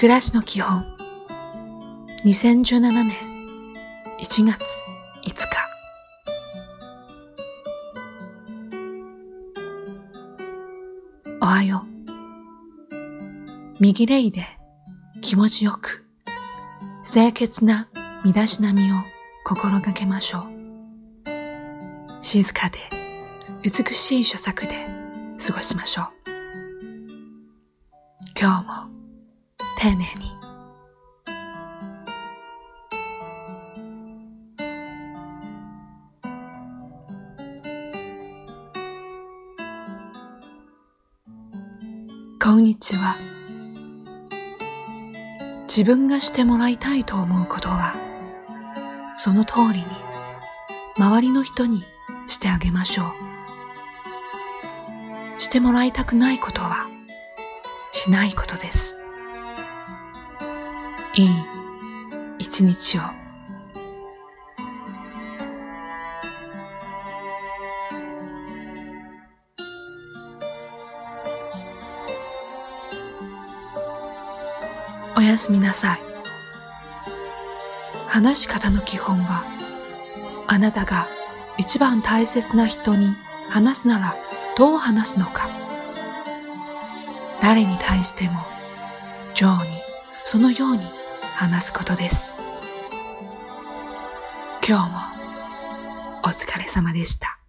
暮らしの基本2017年1月5日。おはよう。右レイで気持ちよく清潔な身だしなみを心がけましょう。静かで美しい所作で過ごしましょう。今日も丁寧に。こんにちは。自分がしてもらいたいと思うことは、その通りに周りの人にしてあげましょう。してもらいたくないことはしないことです。いい一日を。おやすみなさい。話し方の基本は、あなたが一番大切な人に話すならどう話すのか。誰に対しても上にそのように話すことです。今日もお疲れ様でした。